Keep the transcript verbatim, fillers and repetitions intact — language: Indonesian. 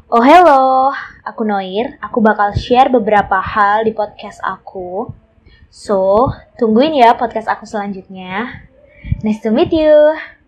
Oh hello, aku Noir. Aku bakal share beberapa hal di podcast aku. So, tungguin ya podcast aku selanjutnya. Nice to meet you.